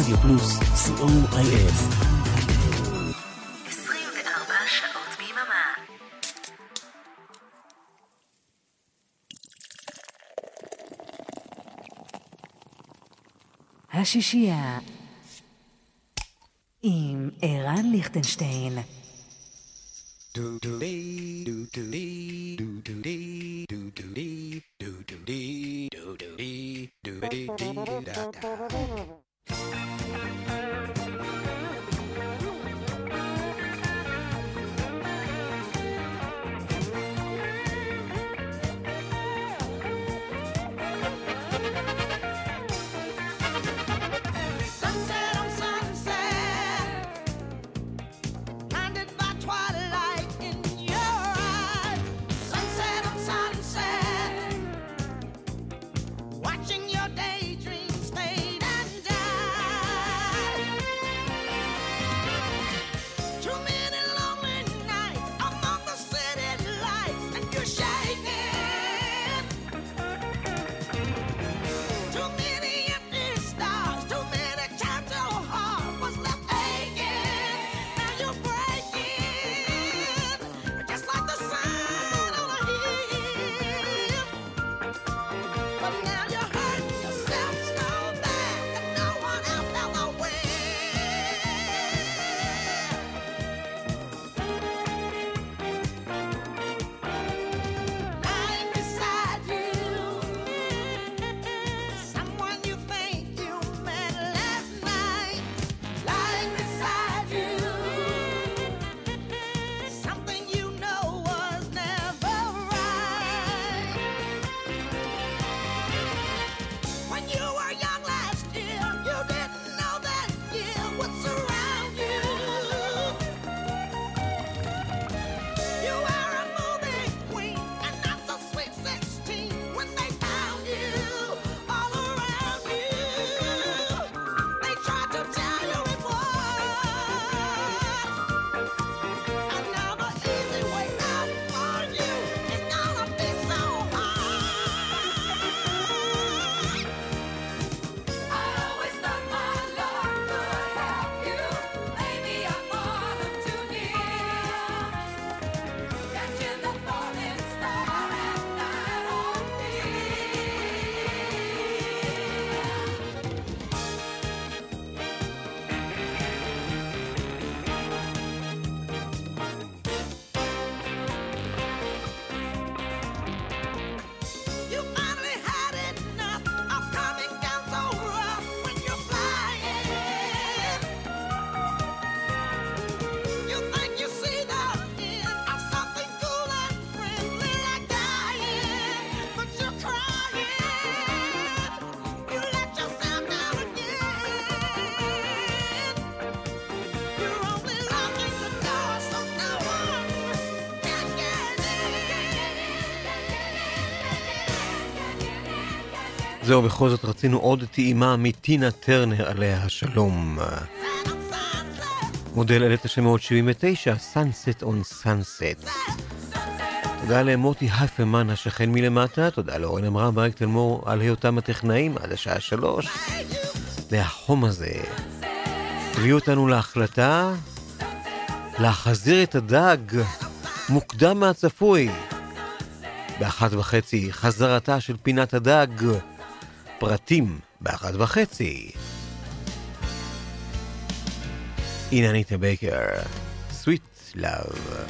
רדיו פלוס, COIF. 24 שעות ביממה. השישייה עם ערן ליכטנשטיין. זהו, בכל זאת רצינו עוד טעימה מטינה טרנר עליה השלום. מודל 1979, Sunset on Sunset. תודה למוטי הפמן השכן מלמטה, תודה לאורן אמרה ברק תלמור על היותם הטכנאים עד השעה 3. והחום הזה הביא אותנו להחלטה להחזיר את הדג מוקדם מהצפוי. ב1:30 חזרתה של פינת הדג, פרטים ב1:30. הנה אניטה בייקר, Sweet Love.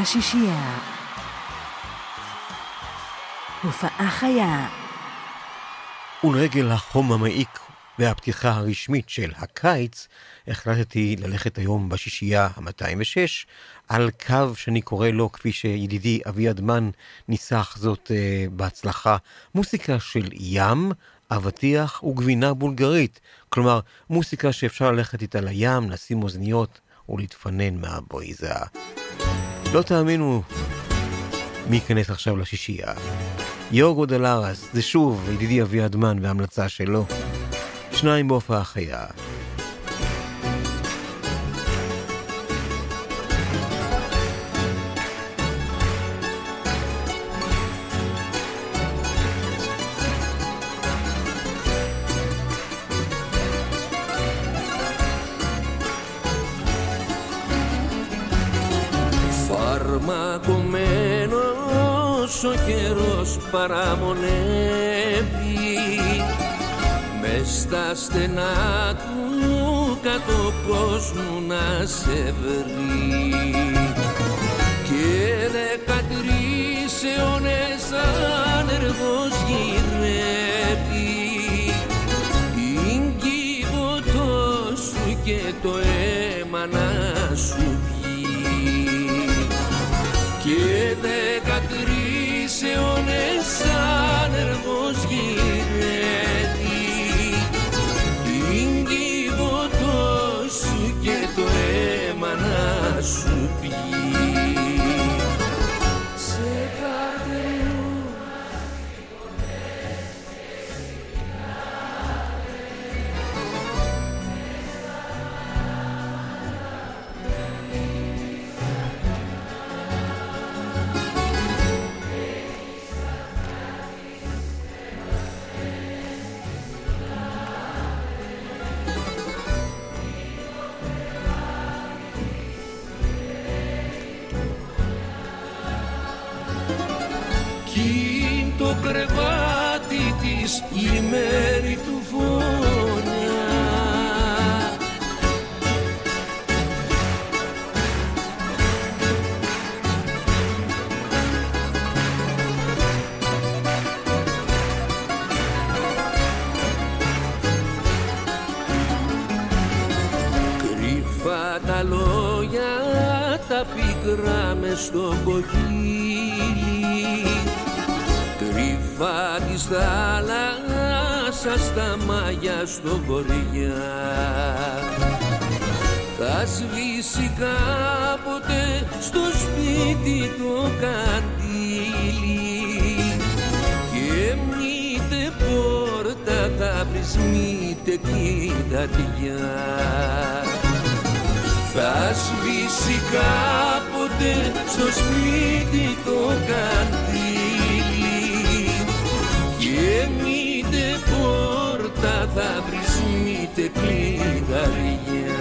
השישייה. הופעה חיה. ולרגל החום המעיק והפתיחה הרשמית של הקיץ, החלטתי ללכת היום בשישייה ה-206 על קו שאני קורא לו, כפי שידידי אביעד מן ניסח זאת בהצלחה, מוסיקה של ים, אבטיח וגבינה בולגרית. כלומר, מוסיקה שאפשר ללכת איתה לים, לשים אוזניות ולהתפנן מהבריזה. לא תאמינו מי ייכנס עכשיו לשישייה. יורגו דלרס, זה שוב ידידי אביעד מן וההמלצה שלו. 2 בהופעה חיה. Φαρμακωμένος ο καιρός παραμονεύει, μες στα στενά του κάτω κόσμου να σε βρει, και 13 αιώνες άνεργος γυρεύει, είναι κύβωτος σου και το αίμα να σου πιει, και 13 αιώνες άνεργος γυρεύει, είναι κύβωτος σου και το αίμα να σου πιει. Σε καρτερού το κρεβάτι της η μέρη του φωνιά, κρυφά τα λόγια τα πικρά μες στο κοχύλι, κρυφά της θάλασσας στα μάγια στο βορειά, θα σβήσει κάποτε στο σπίτι το καντήλι, και μήτε πόρτα θα βρεις μήτε κλειδαριά, θα σβήσει κάποτε στο σπίτι το καντήλι, και μήτε πόρτα θα βρεις μήτε κλειδαριά.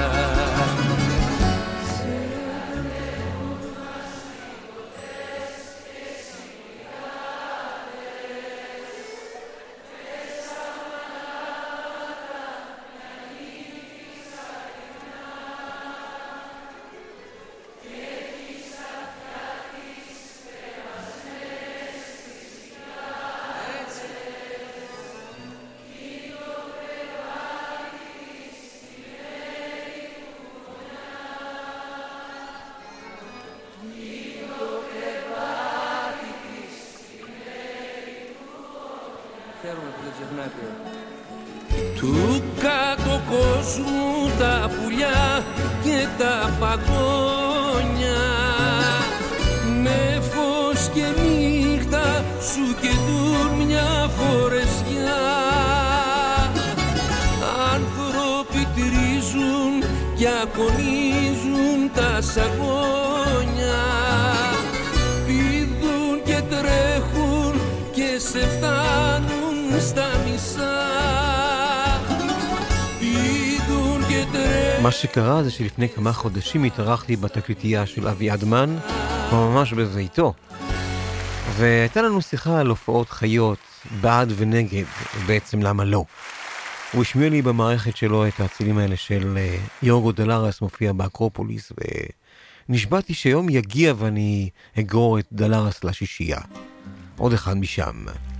Του κάτω κόσμου τα πουλιά και τα παγόνια, με φως και νύχτα σου καιτούν μια φορεσιά, άνθρωποι τρίζουν και ακονίζουν τα σαγόνια, πηδούν και τρέχουν και σε φτάνουν στα μισά. מה שקרה זה שלפני כמה חודשים התארחתי בתקליטייה של אביעד מן, ממש בביתו, והייתה לנו שיחה על הופעות חיות, בעד ונגד, בעצם למה לא. הוא השמיע לי במערכת שלו את הצילים האלה של יורגו דלרס מופיע באקרופוליס, נשבעתי שיום יגיע ואני אגרור את דלרס לשישייה. עוד אחד משם.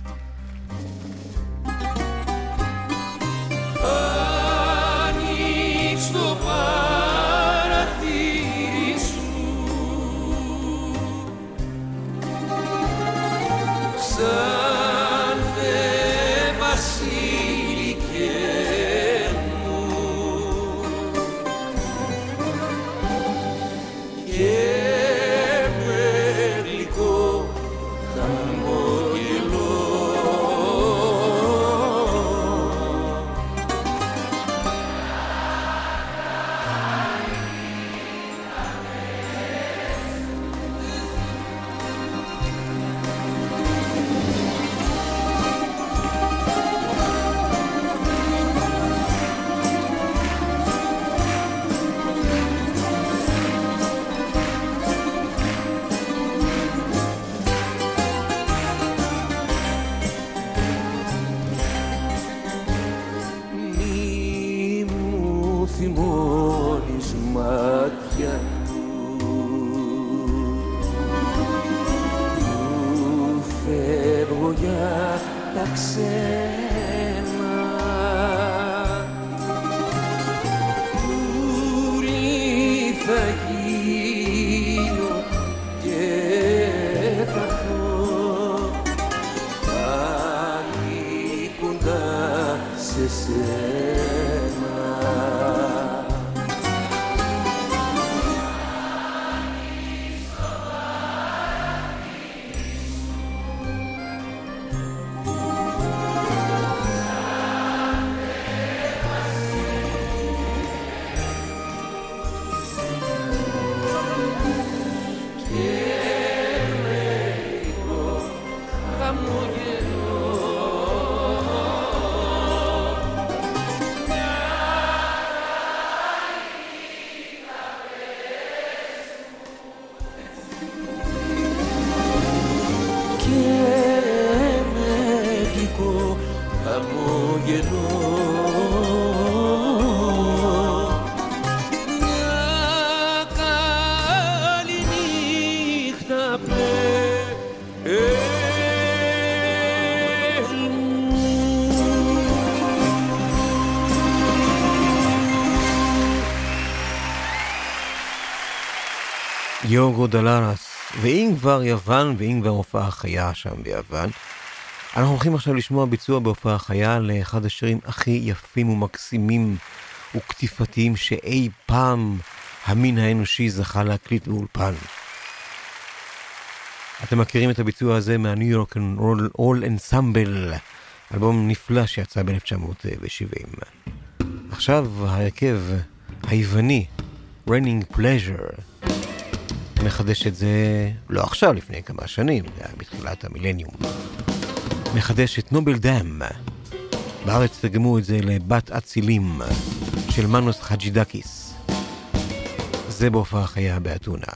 יוגו דלרס, ואם כבר יוון, ואם כבר הופעה חיה שם ביוון, אנחנו הולכים עכשיו לשמוע ביצוע בהופעה חיה לאחד השירים הכי יפים ומקסימים וכתיפתיים שאי פעם המין האנושי זכה להקליט באולפן. אתם מכירים את הביצוע הזה מהניו יורק אול אנסמבל, אלבום נפלא שיצא ב-1970. עכשיו ההרכב היווני, Raining Pleasure, מחדש את זה, לא עכשיו, לפני כמה שנים, זה היה בתחילת המילניום. מחדש את נובל דם. בארץ תרגמו את זה לבת אצילים של מנוס חג'ידקיס. זה בהופעה חיה באתונה.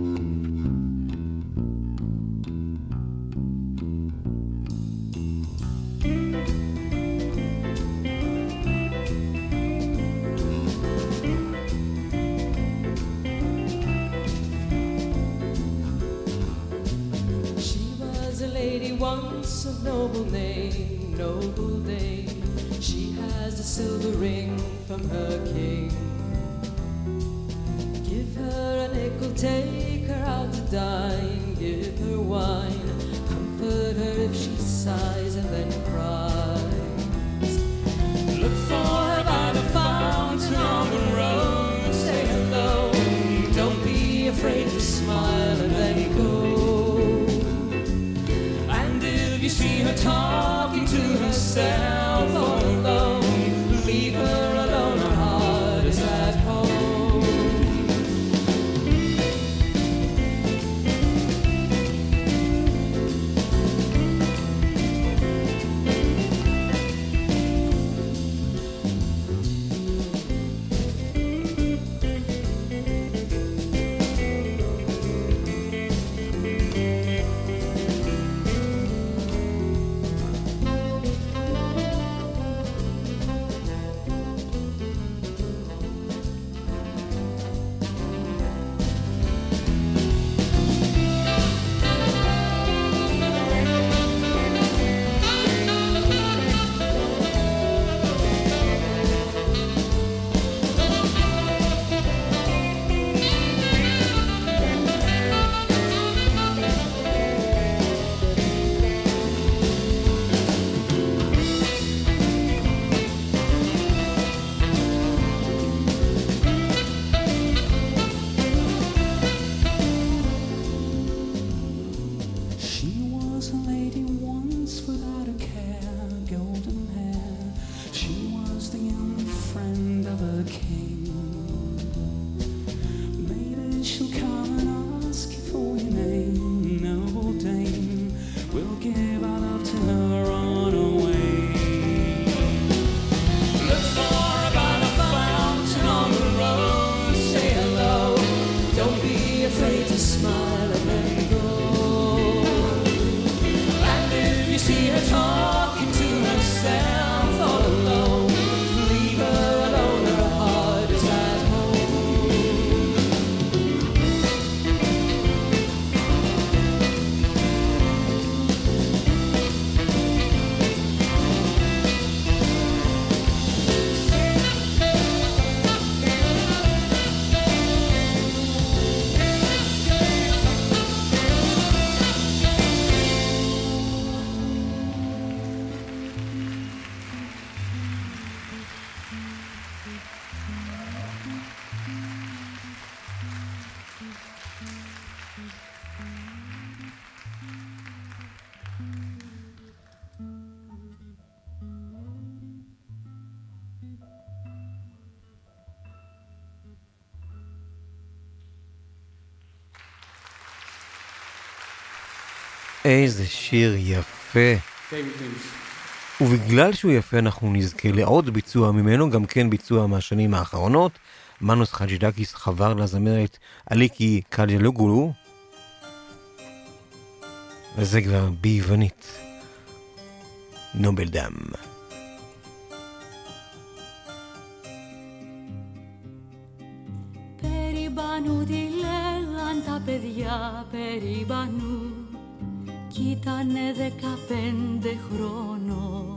Once of noble name, noble dame, she has a silver ring from her king. Give her a nickel, take her out to dine, give her wine, comfort her if she sighs and then cries. Look for her by the fountain on the road, say hello, don't be afraid to smile and then go. You see her talking to herself all alone. Leave her alone, her heart is at home. you see her talking to herself all alone, leave her alone, her heart is at איזה שיר יפה. ובגלל שהוא יפה אנחנו נזכה לעוד ביצוע ממנו, גם כן ביצוע מהשנים האחרונות. מנוס חג'ידקיס חבר לזמרת אליקי קג'לוגולו, וזה כבר ביוונית. נובל דם. Περιμπανού τι λέγαν τα παιδιά, περιμπανού κι ήτανε 15 χρόνων.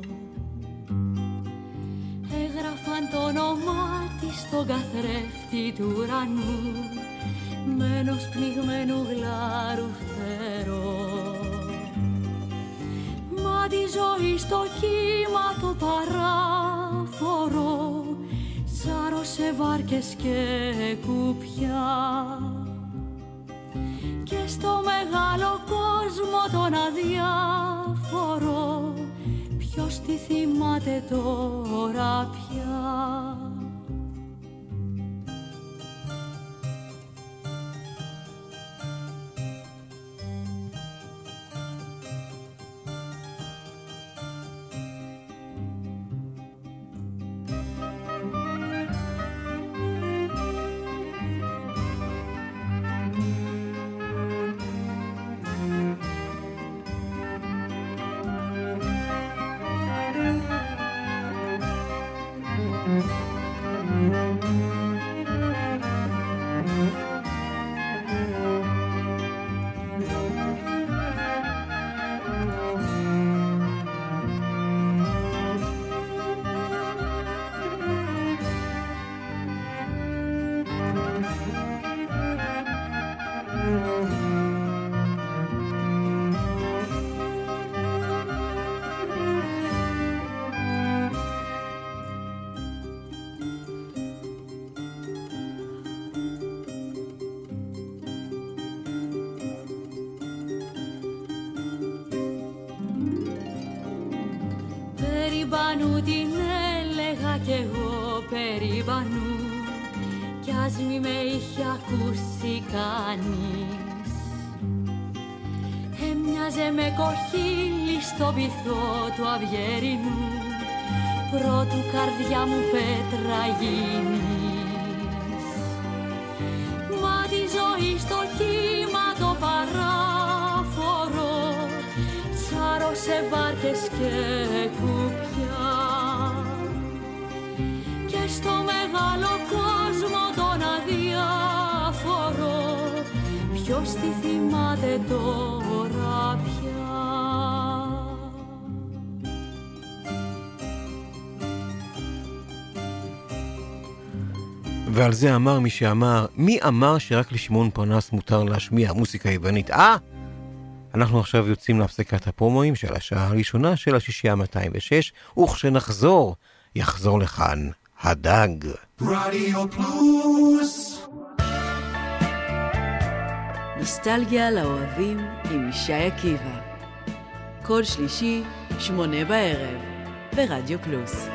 Έγραφαν το όνομά της στον καθρέφτη του ουρανού με ενός πνιγμένου γλάρου φτερό. Μα τη ζωή στο κύμα το παράφορο σάρωσε βάρκες και κουπιά. Και στο μεγάλο κόσμο τον αδιάφορο ποιος τη θυμάται τώρα πια. Περιμπανού την έλεγα κι εγώ περιμπανού κι ας μη με είχε ακούσει κανείς. Έμοιαζε με κοχύλι στο βυθό του αυγερινού πρώτου καρδιά μου πέτρα γίνεις. Μα τη ζωή στο κύμα το παράφορο σάρωσε βάρκες και κουπιά. Και στο μεγάλο κόσμο τον αδιάφορο ποιος τη θυμάται τώρα πια. ועל זה אמר מי שאמר, מי אמר שרק לשמעון פרנס מותר להשמיע מוסיקה יוונית? אנחנו עכשיו יוצאים להפסקת הפרומואים של השעה הראשונה של השישייה 206, וכשנחזור, יחזור לכאן הדג. רדיו פלוס. נוסטלגיה לאוהבים עם ישי עקיבא. כל שלישי, 8 בערב, ברדיו פלוס.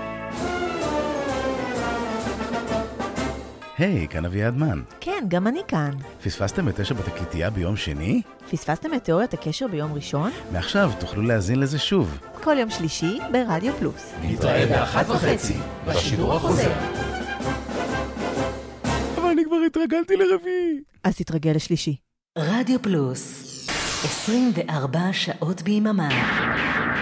היי, כאן אביעד מן. כן, גם אני כאן. פספסתם את 9 בתקליטייה ביום שני? פספסתם את תיאוריית הקשר ביום ראשון? מעכשיו תוכלו להאזין לזה שוב. כל יום שלישי ברדיו פלוס. נתראה ב-1:30 בשידור החוזר. אבל אני כבר התרגלתי לרביעי. אז תתרגל לשלישי. רדיו פלוס, 24 שעות ביממה.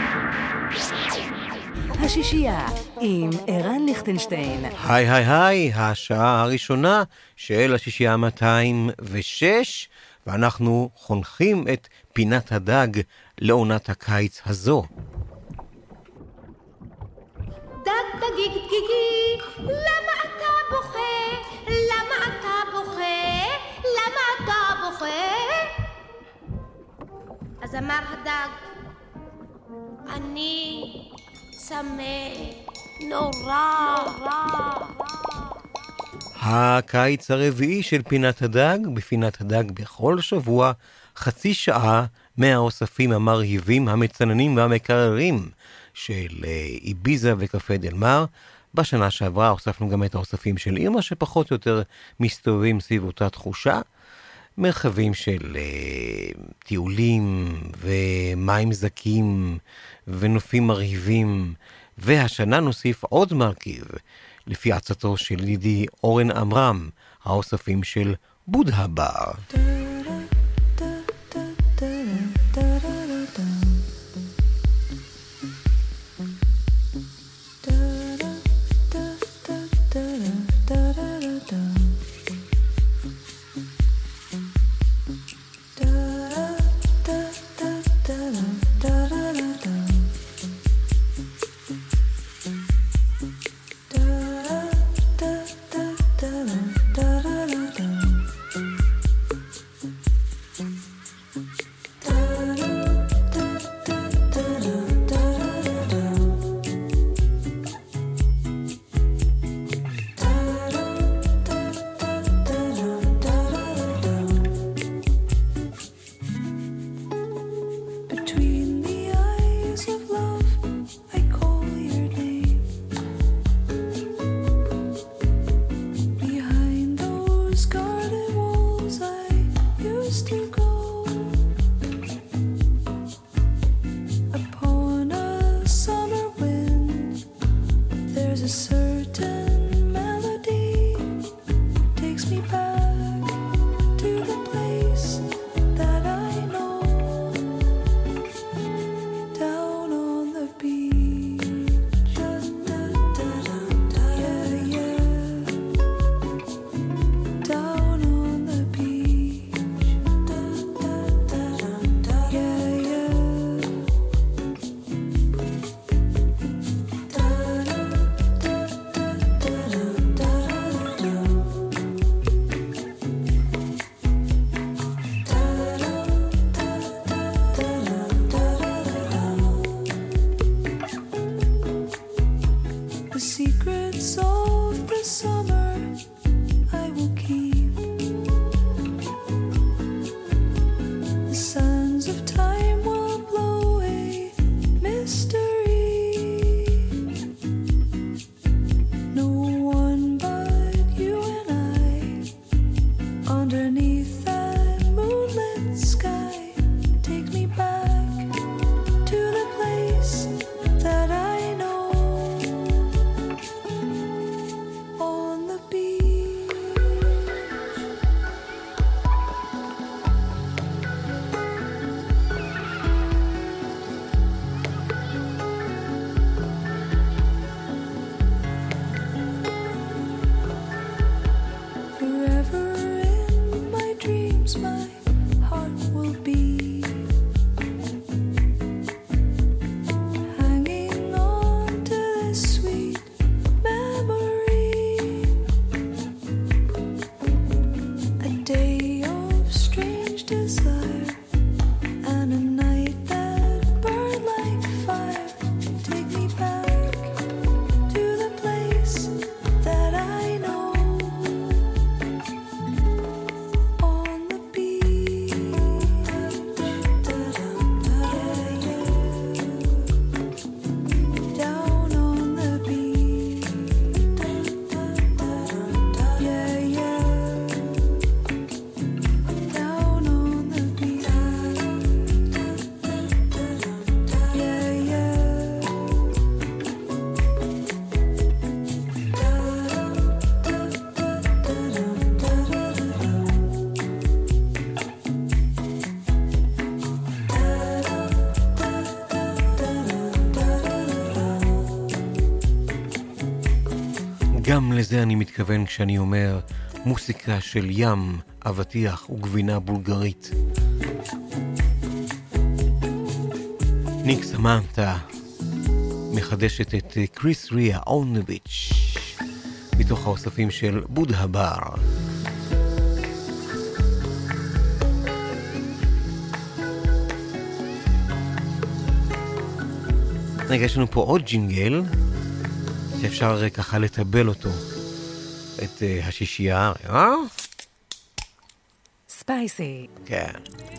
השישייה עם ערן ליכטנשטיין. היי היי היי, השעה הראשונה של השישייה 206, ואנחנו חונכים את פינת הדג לעונת הקיץ הזו. דג דגיג דגיגי, למה אתה בוכה? למה אתה בוכה? למה אתה בוכה? אז אמר הדג, אני צמא נורא. הקיץ הרביעי של פינת הדג, בפינת הדג בכל שבוע, חצי שעה מהאוספים המרהיבים, המצננים והמקררים של איביזה וקפה דל מר. בשנה שעברה הוספנו גם את האוספים של אירמה, שפחות או יותר מסתובבים סביב אותה תחושה. מרחבים של טיולים ומים זקים ונופים מרהיבים, והשנה נוסיף עוד מרכיב, לפי עצתו של ידידי אורן אמרם, האוספים של בודהה בר. גם לזה אני מתכוון כשאני אומר מוסיקה של ים, אבטיח וגבינה בולגרית. ניק סמנטה מחדשת את קריס ריה on the beach מתוך האוספים של בודהה בר. רגע, יש לנו פה עוד ג'ינגל שאפשר ככה לטבל אותו, את השישייה. ספייסי. כן.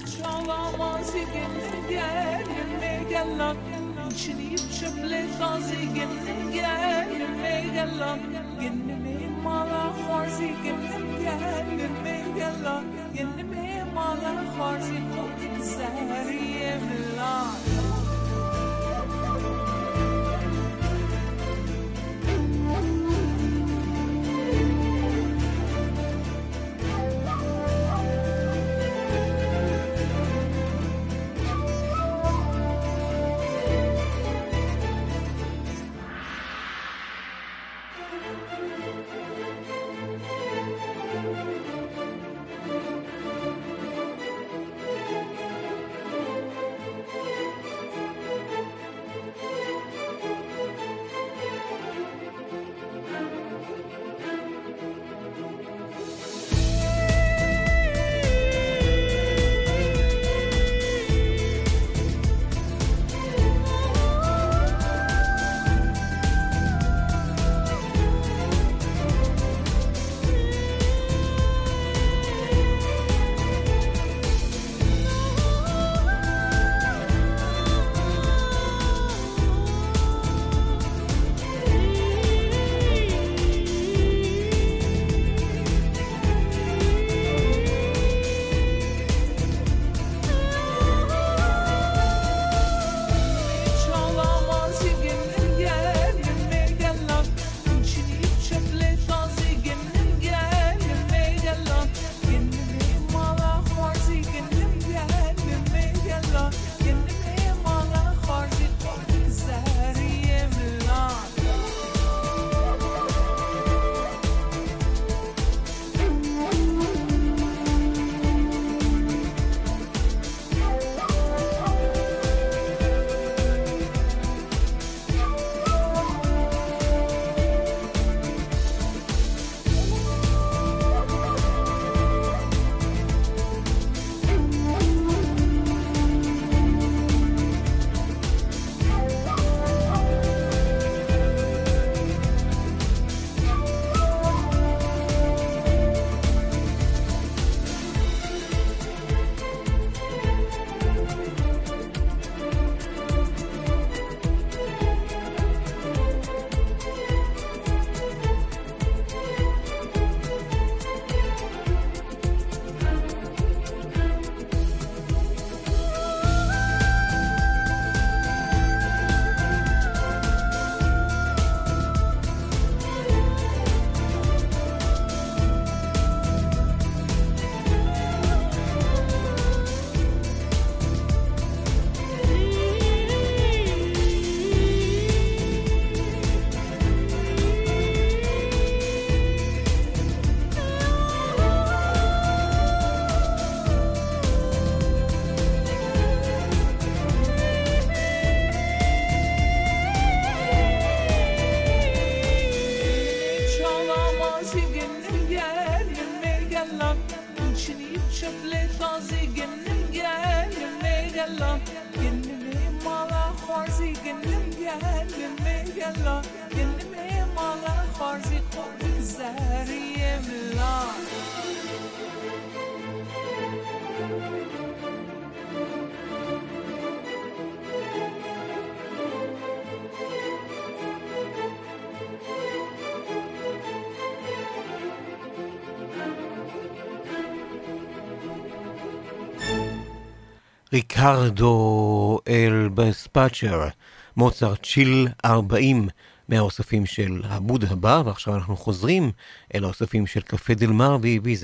ריקרדו אל בספאצ'ר, מוצרט צ'יל 40 מהאוספים של הבודהה בר, ועכשיו אנחנו חוזרים אל האוספים של קפה דל מר באיביזה.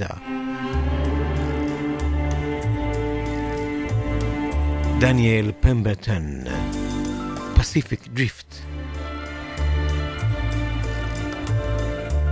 דניאל פמברטון, פסיפיק דריפט.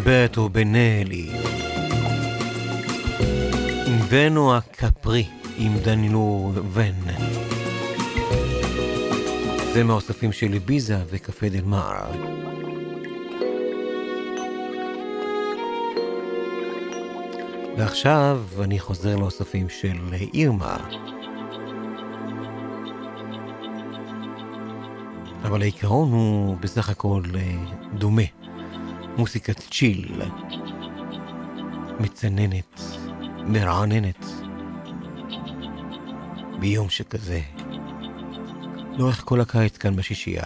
Umberto Benelli, Inverno a Capri עם דנילו ון. זה מהאוספים של ביזה וקפה דל מר. ועכשיו אני חוזר לאוספים של אירמה. אבל העיקרון הוא בסך הכל דומה. מוסיקת צ'יל, מצננת, מרעננת, ביום שכזה, לאורך כל הקיץ כאן בשישייה.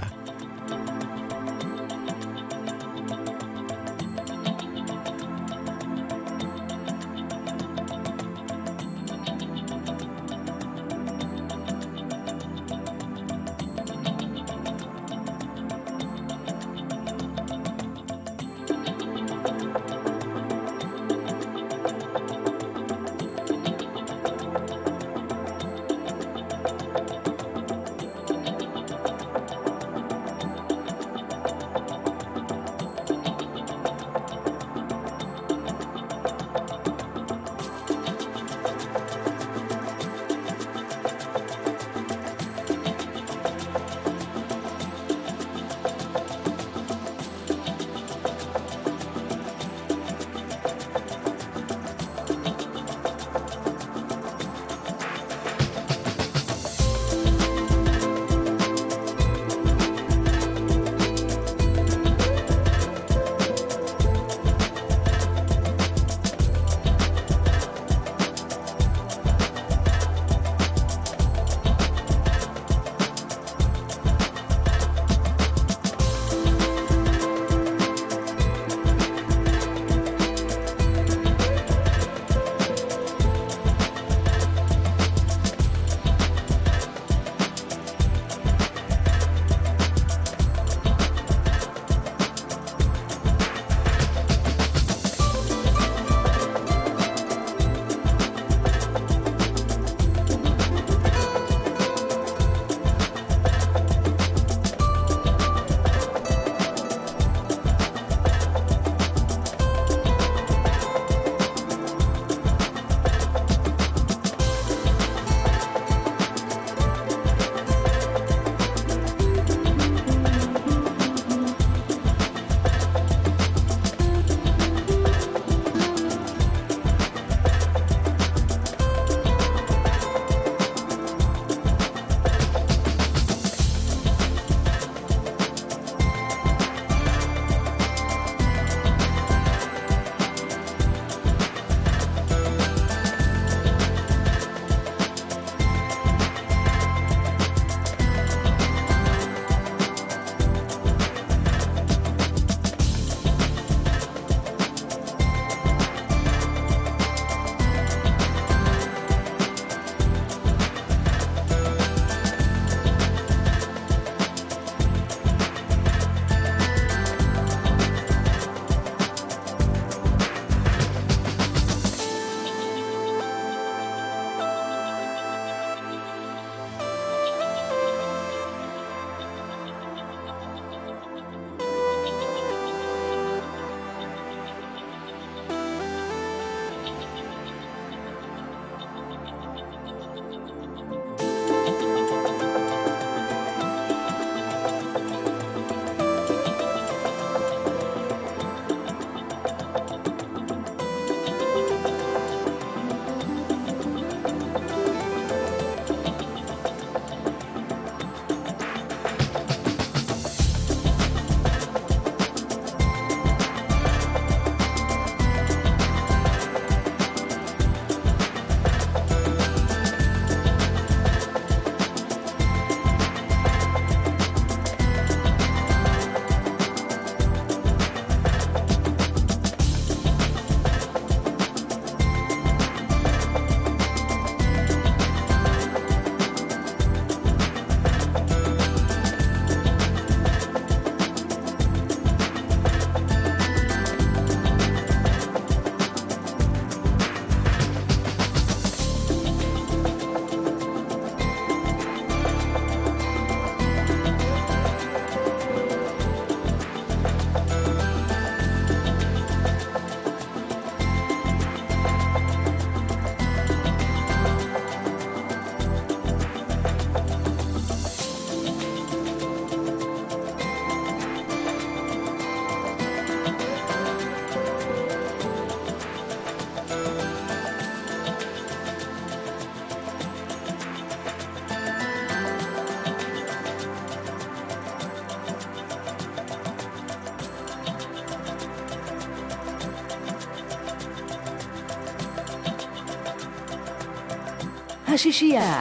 השישייה.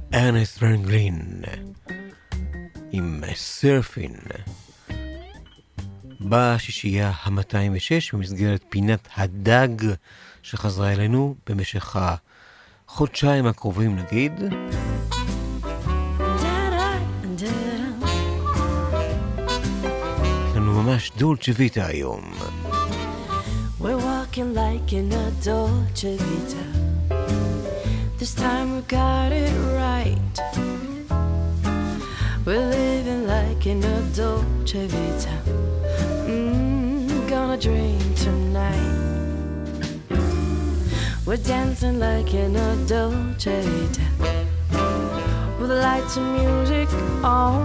ארנסט רנגלין עם סרפין בשישייה ה-206 במסגרת פינת הדג שחזרה אלינו במשך החודשיים הקרובים נגיד. יש לנו ממש דולצ'ה ויטה היום. We're walking like in a Dolce Vita. This time we got it right. We're living like in a Dolce Vita. Gonna drink tonight. We're dancing like in a Dolce Vita. With the lights and music on.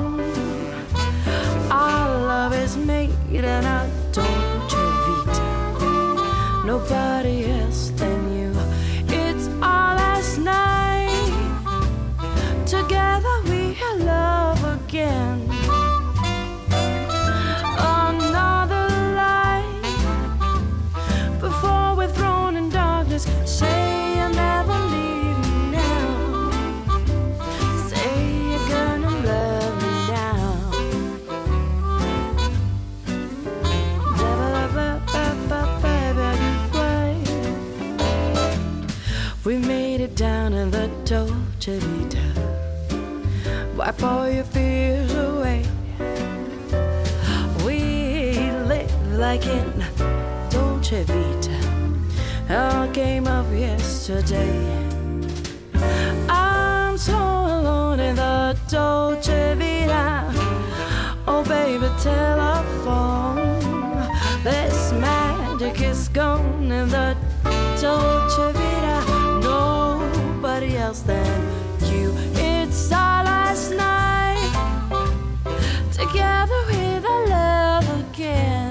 Our love is made in a Dolce Vita. Nobody else than you. It's our last night. Together we have love again. Another light before we're thrown in darkness. Say you'll never leave me now. Say you're gonna love me now. We made it down in the Dolce Vita. Wipe all your fears away. We live like in Dolce Vita. Our game of yesterday. I'm so alone in the Dolce Vita. Oh baby, telephone. This magic is gone in the Dolce Vita. Nobody else than you. It's our last night. Together with our love again.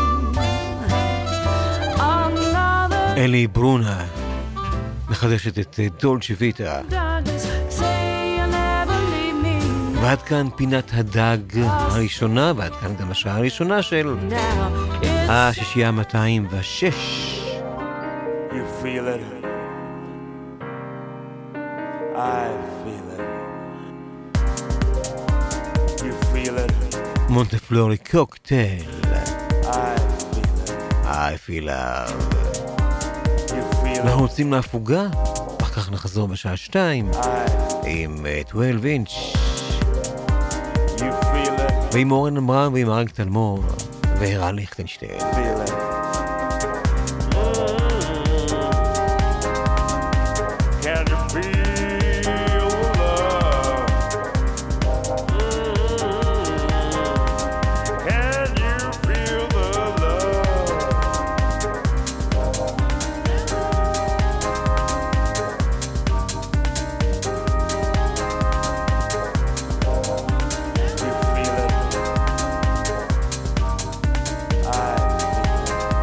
Another אלי ברונה מחדשת את דולצ'ה ויטה. ועד כאן פינת הדג הראשונה, ועד כאן גם השעה הראשונה של השישייה 206. You feel it. I feel it. You feel it. מונטפלורי קוקטייל. I feel it. I feel love. You feel אנחנו it. רוצים להפוגה, אחר כך נחזור בשעה 2 עם 12 אינץ' You feel it. ועם אורן אמרם ועם אריק תלמור וערן ליכטנשטיין. Feel it. Can you feel love? Can you feel the love? You feel it. I feel it.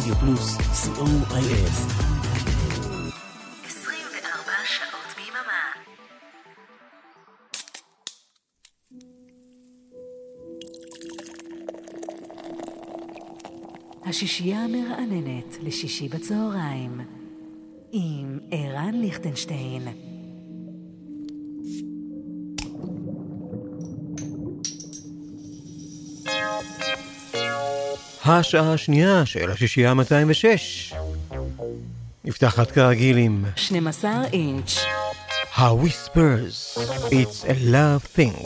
רדיו פלוס, co.il. 24 שעות ביממה. השישייה המרעננת לשישי בצהריים עם ערן ליכטנשטיין. השעה השנייה של השישייה 206 נפתחת כרגיל עם 12 אינץ' ה-Whispers, It's a Love Thing.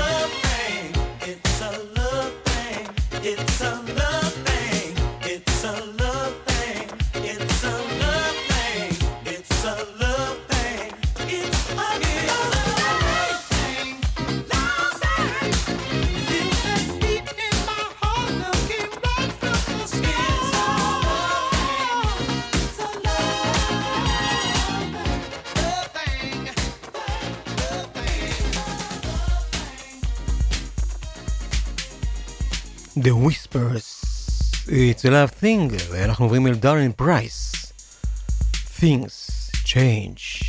It's a love thing. It's a The Whispers, It's a Love Thing, ואנחנו עוברים אל דארן פרייס, Things Change.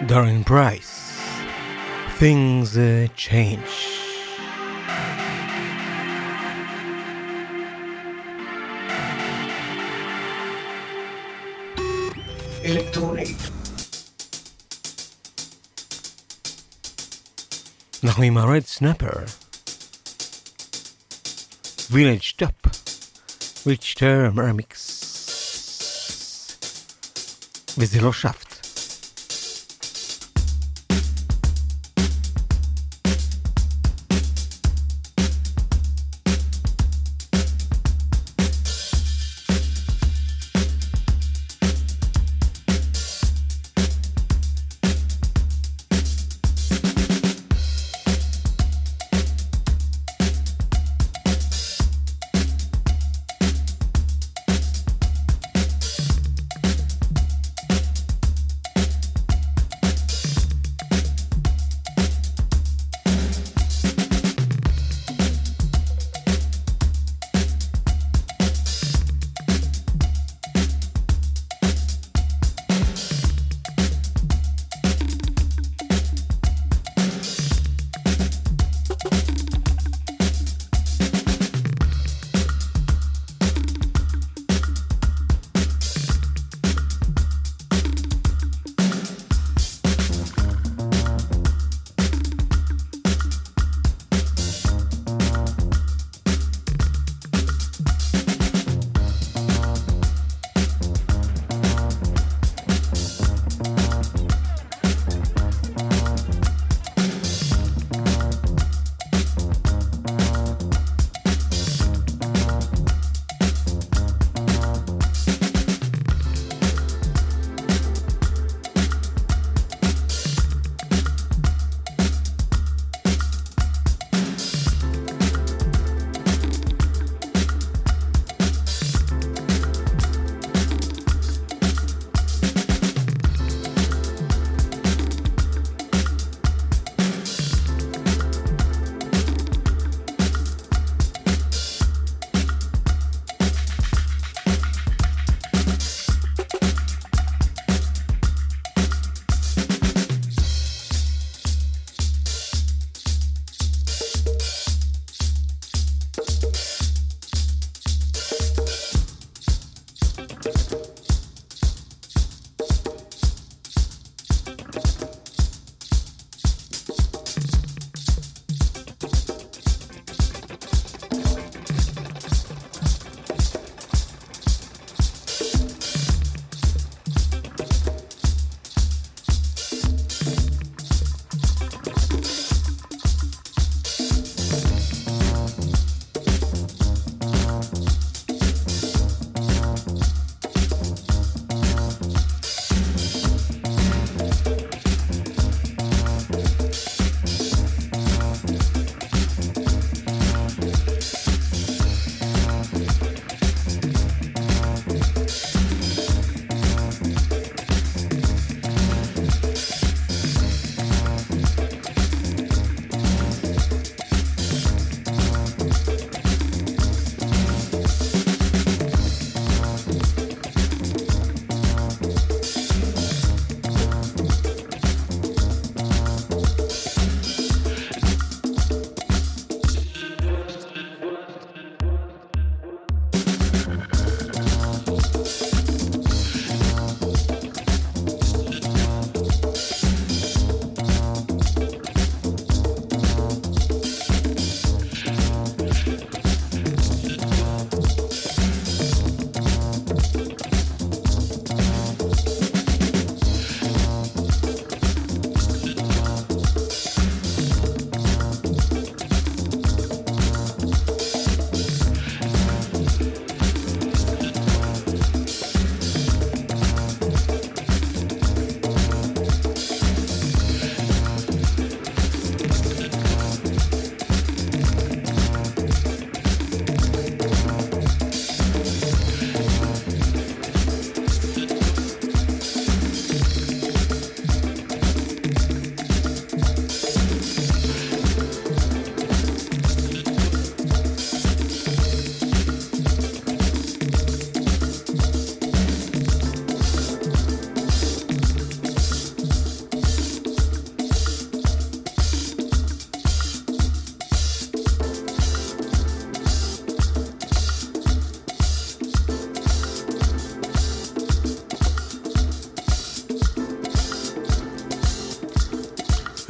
Darren Price, Things Change. אלקטרונית. אנחנו עם הרד סנאפר, Village Top, ריצ'טר מרמיקס, וזה לא שפט.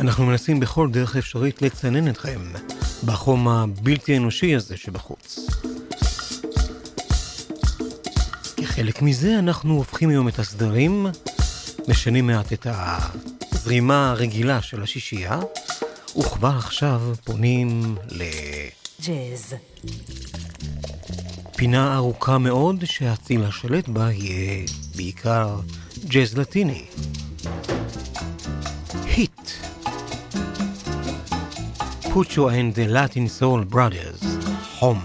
אנחנו מנסים בכל דרך אפשרית לצנן אתכם בחום הבלתי אנושי הזה שבחוץ. כחלק מזה אנחנו הופכים היום את הסדרים, משנים מעט את הזרימה הרגילה של השישייה, וכבר עכשיו פונים ג'אז. פינה ארוכה מאוד שהציל השלט בה יהיה בעיקר ג'אז לטיני. היט. Pucho and the Latin Soul Brothers. Home.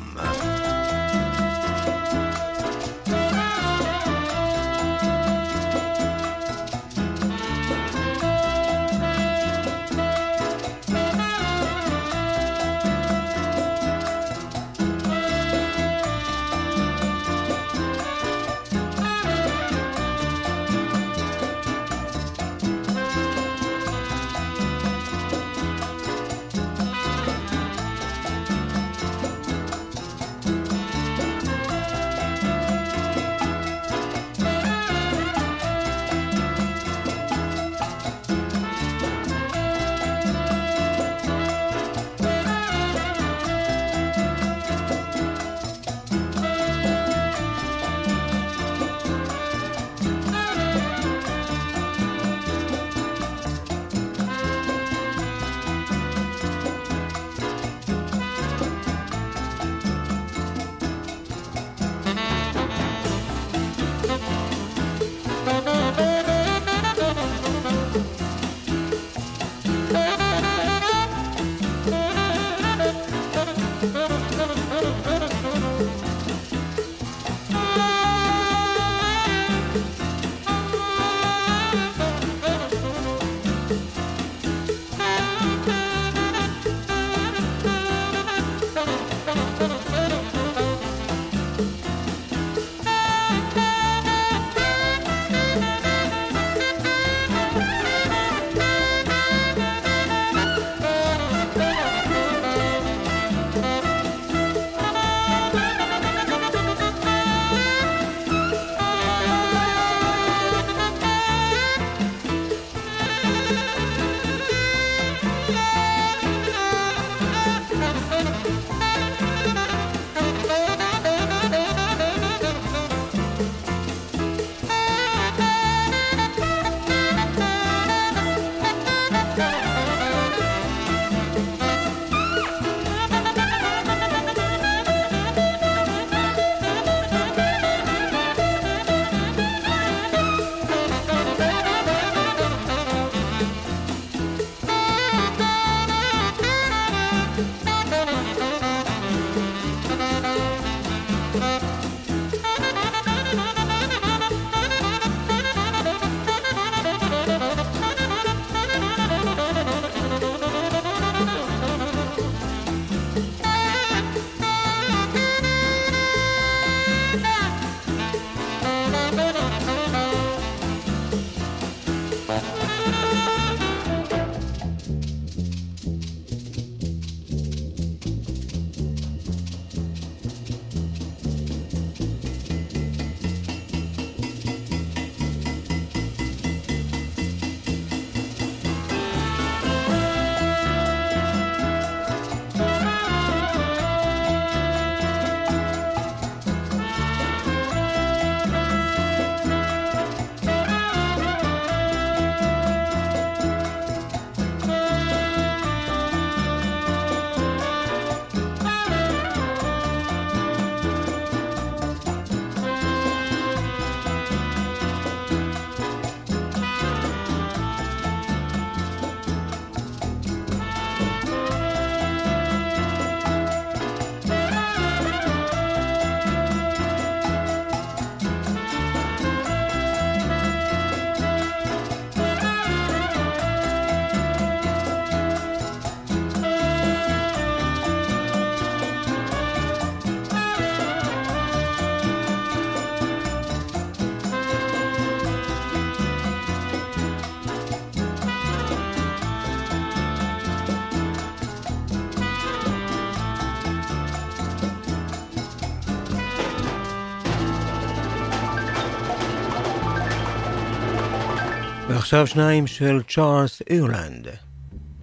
ועכשיו שניים של צ'ארלס אירלנד,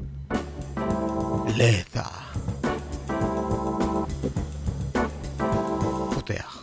לתה. פותח.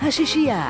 השישייה.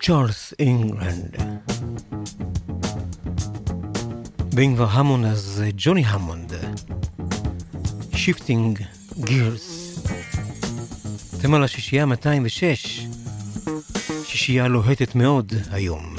צ'ארלס אינגלנד. ואם כבר המון אז ג'וני המונד, Shifting Gears. אתם על השישייה 206, שישייה לוהטת מאוד היום.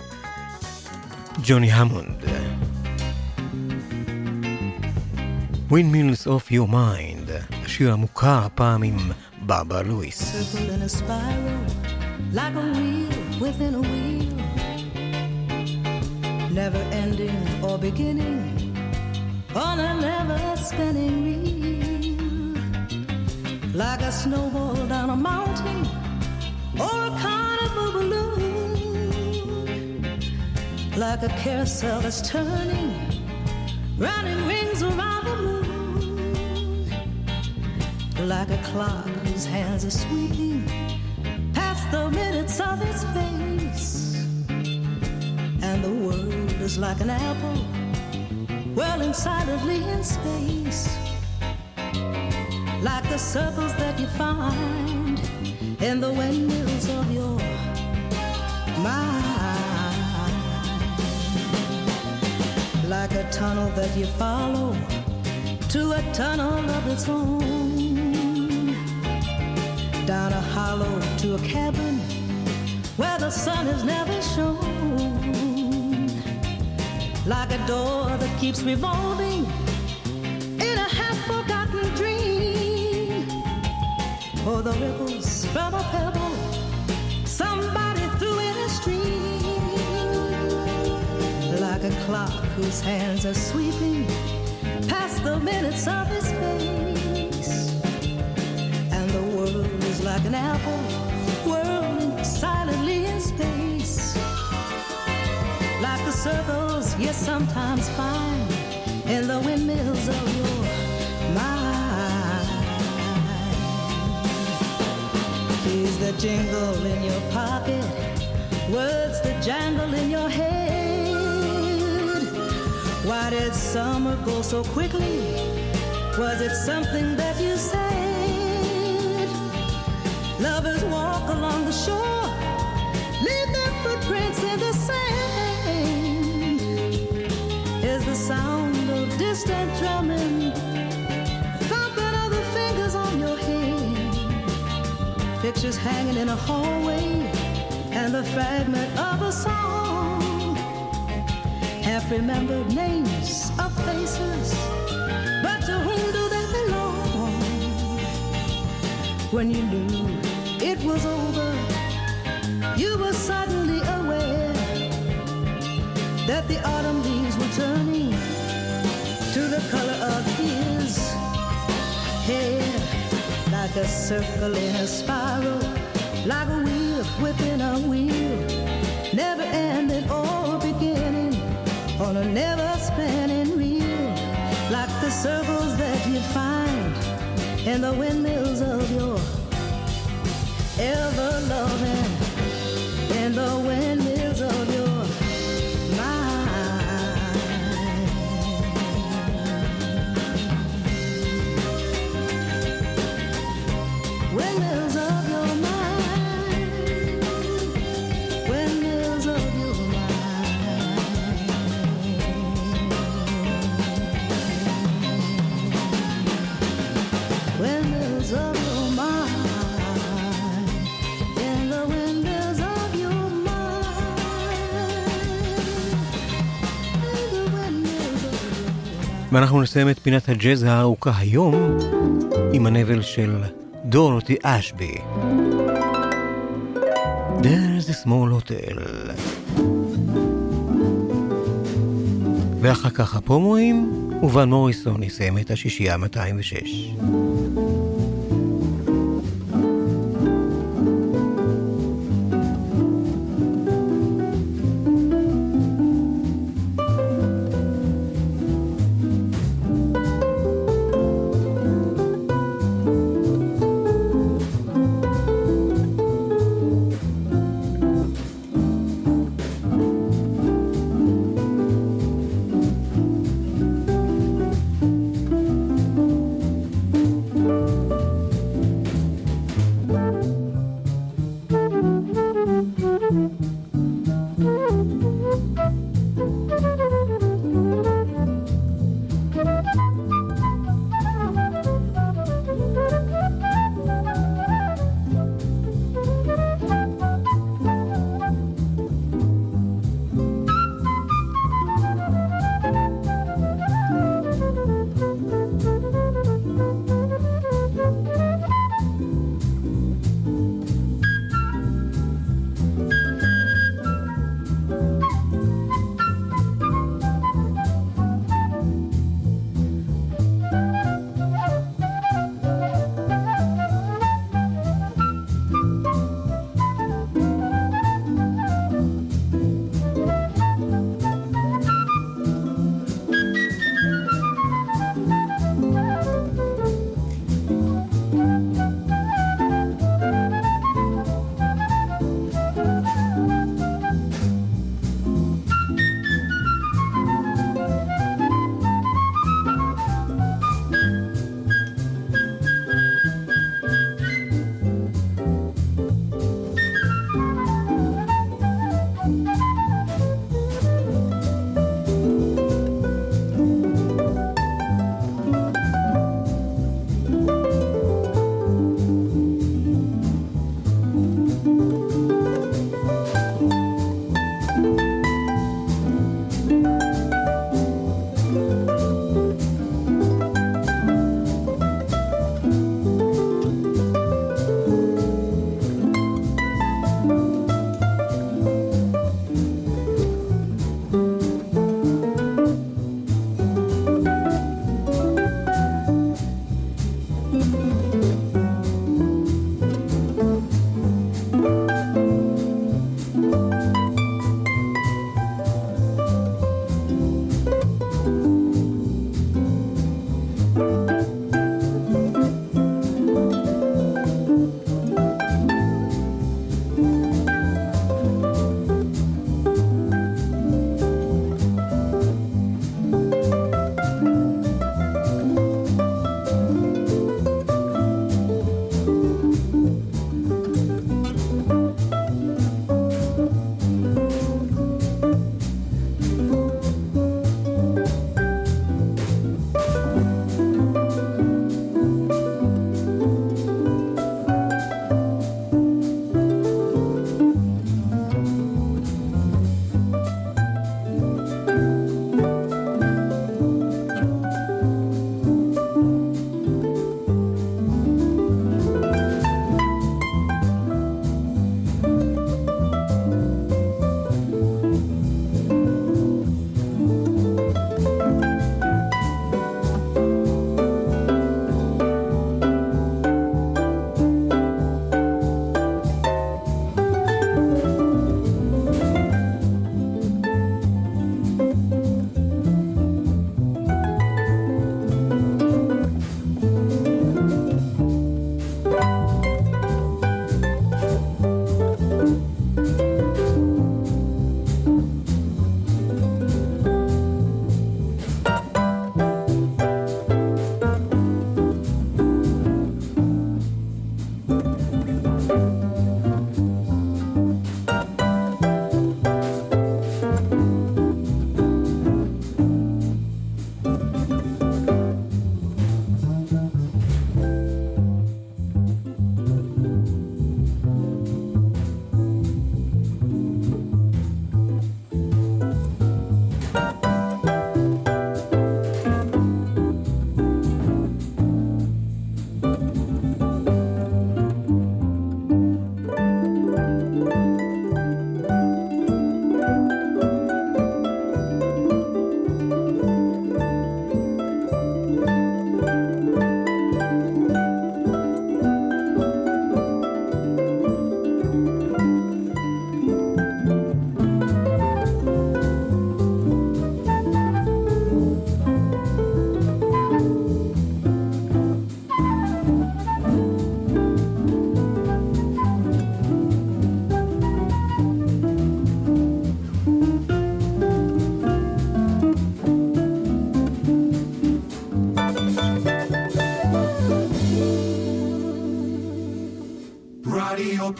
ג'וני המונד. Windmills of Your Mind, השיר המוכר הפעם עם ברברה לואיס. Circle in a spiral, like a wheel within a wheel, never ending or beginning, on a never spinning reel, like a snowball down a mountain, or a carnival balloon, like a carousel that's turning, running rings around the moon, like a clock whose hands are sweeping past the minutes of its face, and the world is like an apple whirling silently in space, like the circles that you find in the windmills of your mind, like a tunnel that you follow to a tunnel of its own, down a hollow to a cabin where the sun is never shown, like a door that keeps revolving in a half-forgotten dream, or the ripples from a pebble somebody threw in a stream, like a clock whose hands are sweeping past the minutes of its face, and the world is like an apple whirling silently in space, like the circles you sometimes find in the windmills of your mind. Keys that jingle in your pocket, words that jangle in your head. Why did summer go so quickly? Was it something that you said? Lovers walk along the shore, leave their footprints in the sand. Is the sound of distant drumming, thumping of the fingers on your hand, pictures hanging in a hallway, and the fragment of a song, half-remembered names of faces, but to whom do they belong? When you knew it was over, you were suddenly aware that the autumn leaves were turning to the color of his hair, like a circle in a spiral, like a wheel within a wheel, never ending or beginning, on a never spinning reel, like the circles that you find in the windmills of your ever loving, in the windmills of your mind. Windmills of your mind, windmills of your mind, windmills of your mind, in the windmills of your mind. ואנחנו נסיים את פינת הג'אז הארוכה היום עם הנבל של דורותי אשבי. There's a small hotel. ואחר כך הפרומואים, וואן מוריסון יסיים את השישייה 206.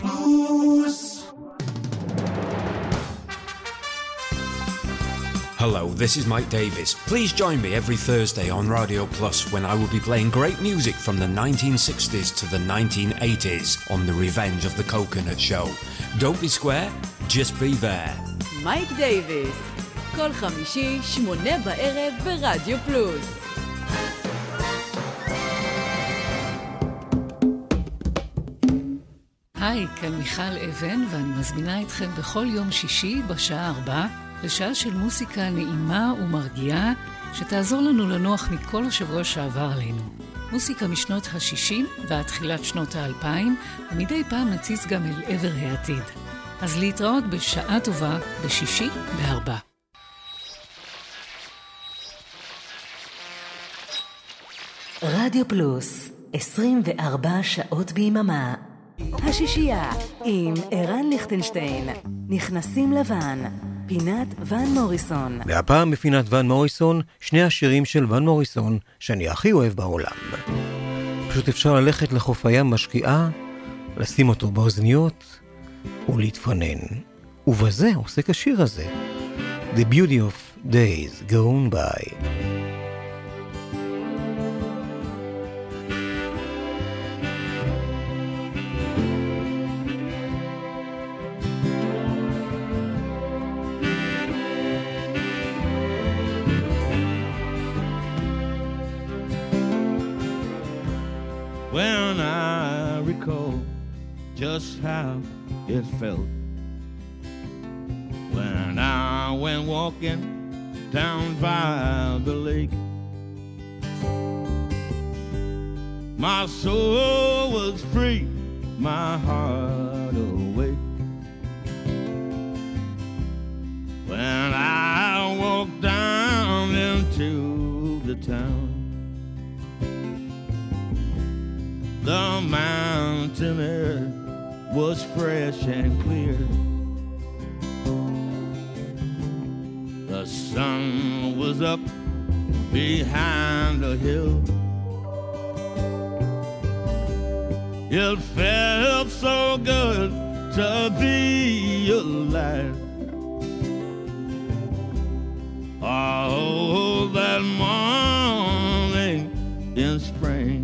Plus. Hello, this is Mike Davis. Please join me every Thursday on Radio Plus when I will be playing great music from the 1960s to the 1980s on the Revenge of the Coconut Show. Don't be square, just be there. מייק דייביס, כל חמישי, 8 בערב ברדיו פלוס. היי, כאן מיכל אבן, ואני מזמינה אתכם בכל יום שישי בשעה 4 לשעה של מוסיקה נעימה ומרגיעה שתעזור לנו לנוח מכל השבוע שעבר עלינו. מוסיקה משנות ה-60 ועד תחילת שנות ה-2000, ומדי פעם נציץ גם אל עבר העתיד. אז להתראות בשעה טובה בשישי ב-4. רדיו פלוס, 24 שעות ביממה. השישייה עם ערן ליכטנשטיין, נכנסים לבן, פינת ון מוריסון. והפעם בפינת ון מוריסון, שני השירים של ון מוריסון שאני הכי אוהב בעולם. פשוט אפשר ללכת לחוף הים משקיעה, לשים אותו באוזניות ולהתפנן. ובזה עוסק השיר הזה. The Beauty of Days Gone By. When I recall just how it felt when I went walking down by the lake, my soul was free, my heart awake. When I walked down into the town, the mountain air was fresh and clear. The sun was up behind a hill. It felt so good to be alive. Oh, that morning in spring,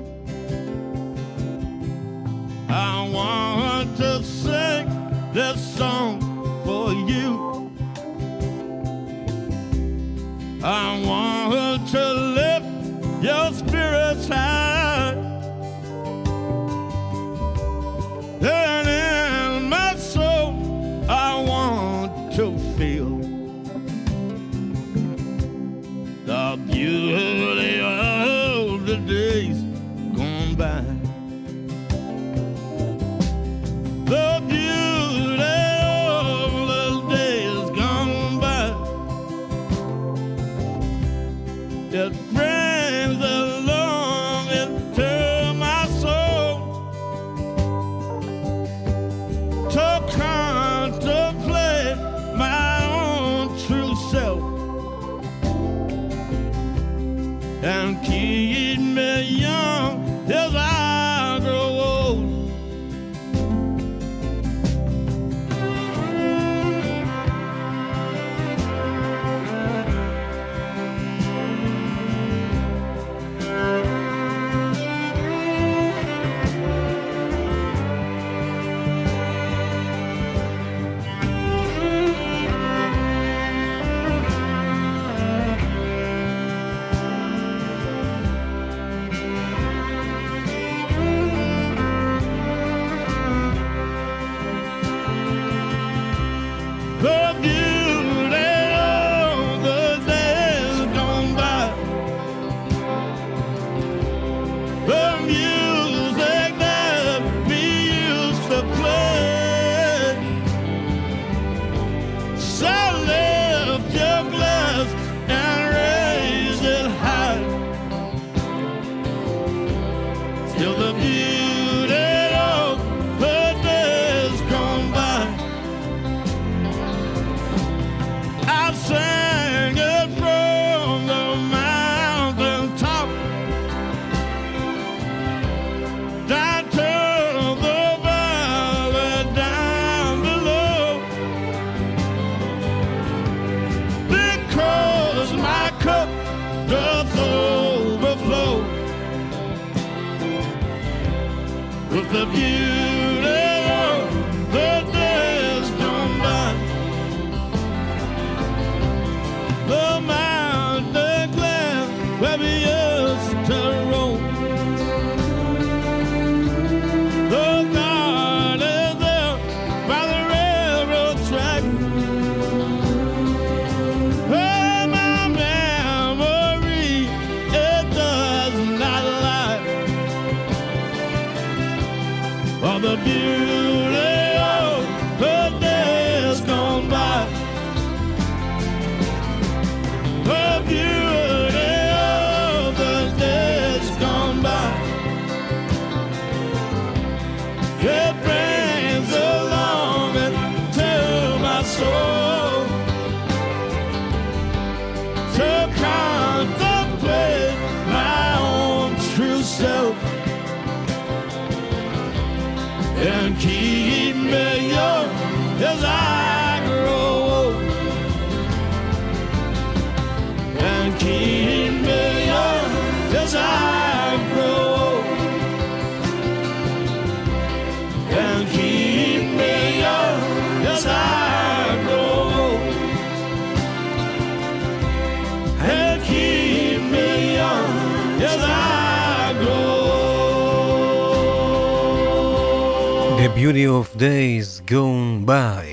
I want to sing this song for you. I want to lift your spirits high, and in my soul I want to feel the beauty of the days gone by. The beauty of the days gone by. It brings a longing to my soul to contemplate my own true self and keep me young as I grow old. the beauty of the days gone by. The mountain glen where we used to roam. The garden there by the railroad track. Oh, my memory, it does not lie. For the beauty of the days gone by. The beauty of the days gone by. It brings a longing to my soul to contemplate my own true self and keep me young as I grow old, and keep me young as I grow old, and keep me young as I grow old, and keep me young as I grow old. The Beauty of Days Gone By.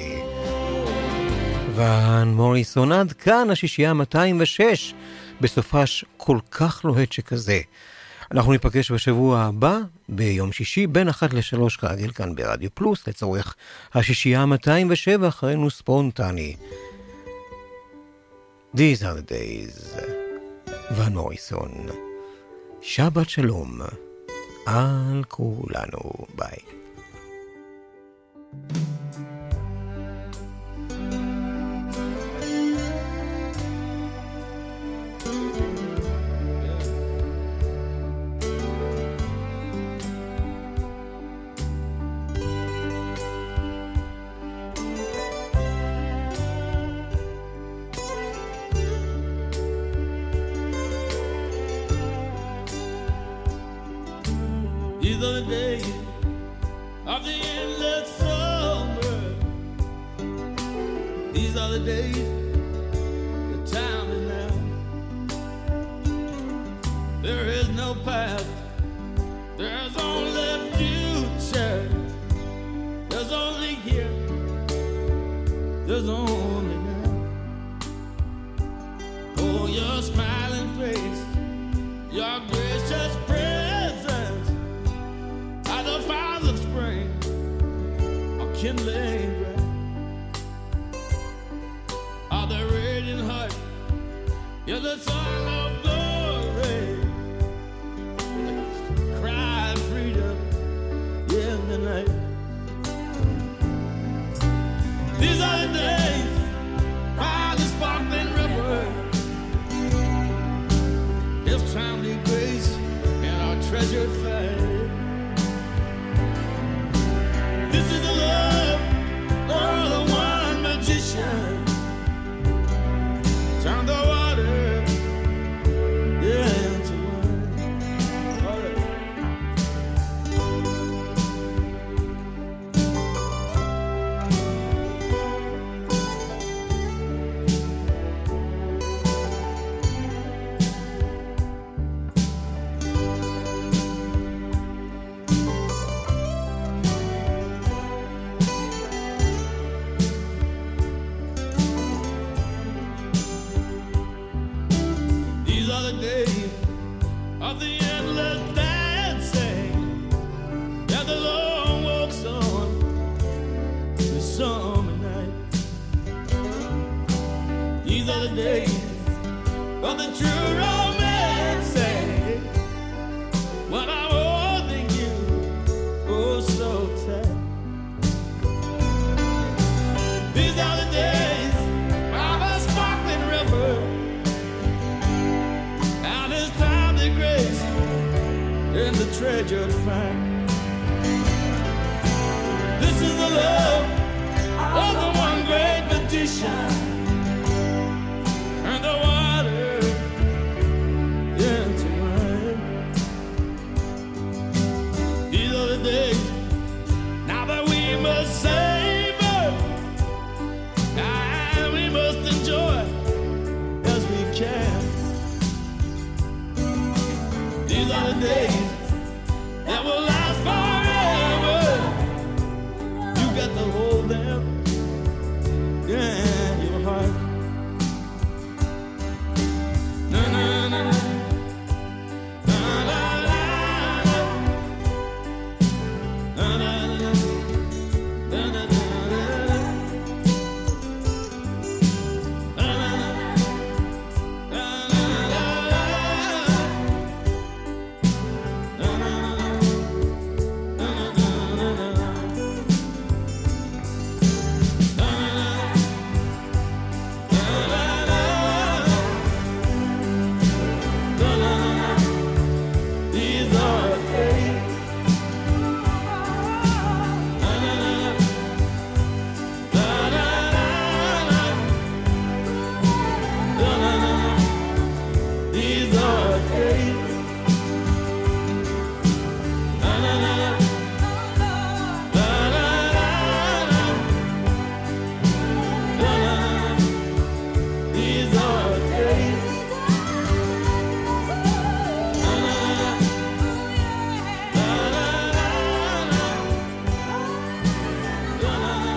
ואן מוריסון, עד כאן השישייה 206, בסופש כל כך לוהט שכזה. אנחנו ניפגש בשבוע הבא, ביום שישי, בין 1 ל-3 כרגיל כאן ברדיו פלוס, לצורך השישייה 207, אחרינו ספונטני. These are the days. ואן מוריסון. שבת שלום. על כולנו. ביי. These are the days of the endless summer. These are the days, the time is now. There is no past, there's only future. There's only here, there's only now. Oh, your smiling face, your gracious presence, the fires of spring are kindling bright. Are the radiant heart, you're the song of glory, cry of freedom in the night. These are the days by the sparkling river, His timely grace and our treasured faith. This is the love of the one magician. Turn the water into wine. All right. Of the endless dancing and the long walks on the summer night. These are the days of the true romancing, when I'm holding you oh so tight. These are the days of a sparkling river and His timely grace in the treasured find. This is the love of the one great magician, and the water into wine. These are the days gonna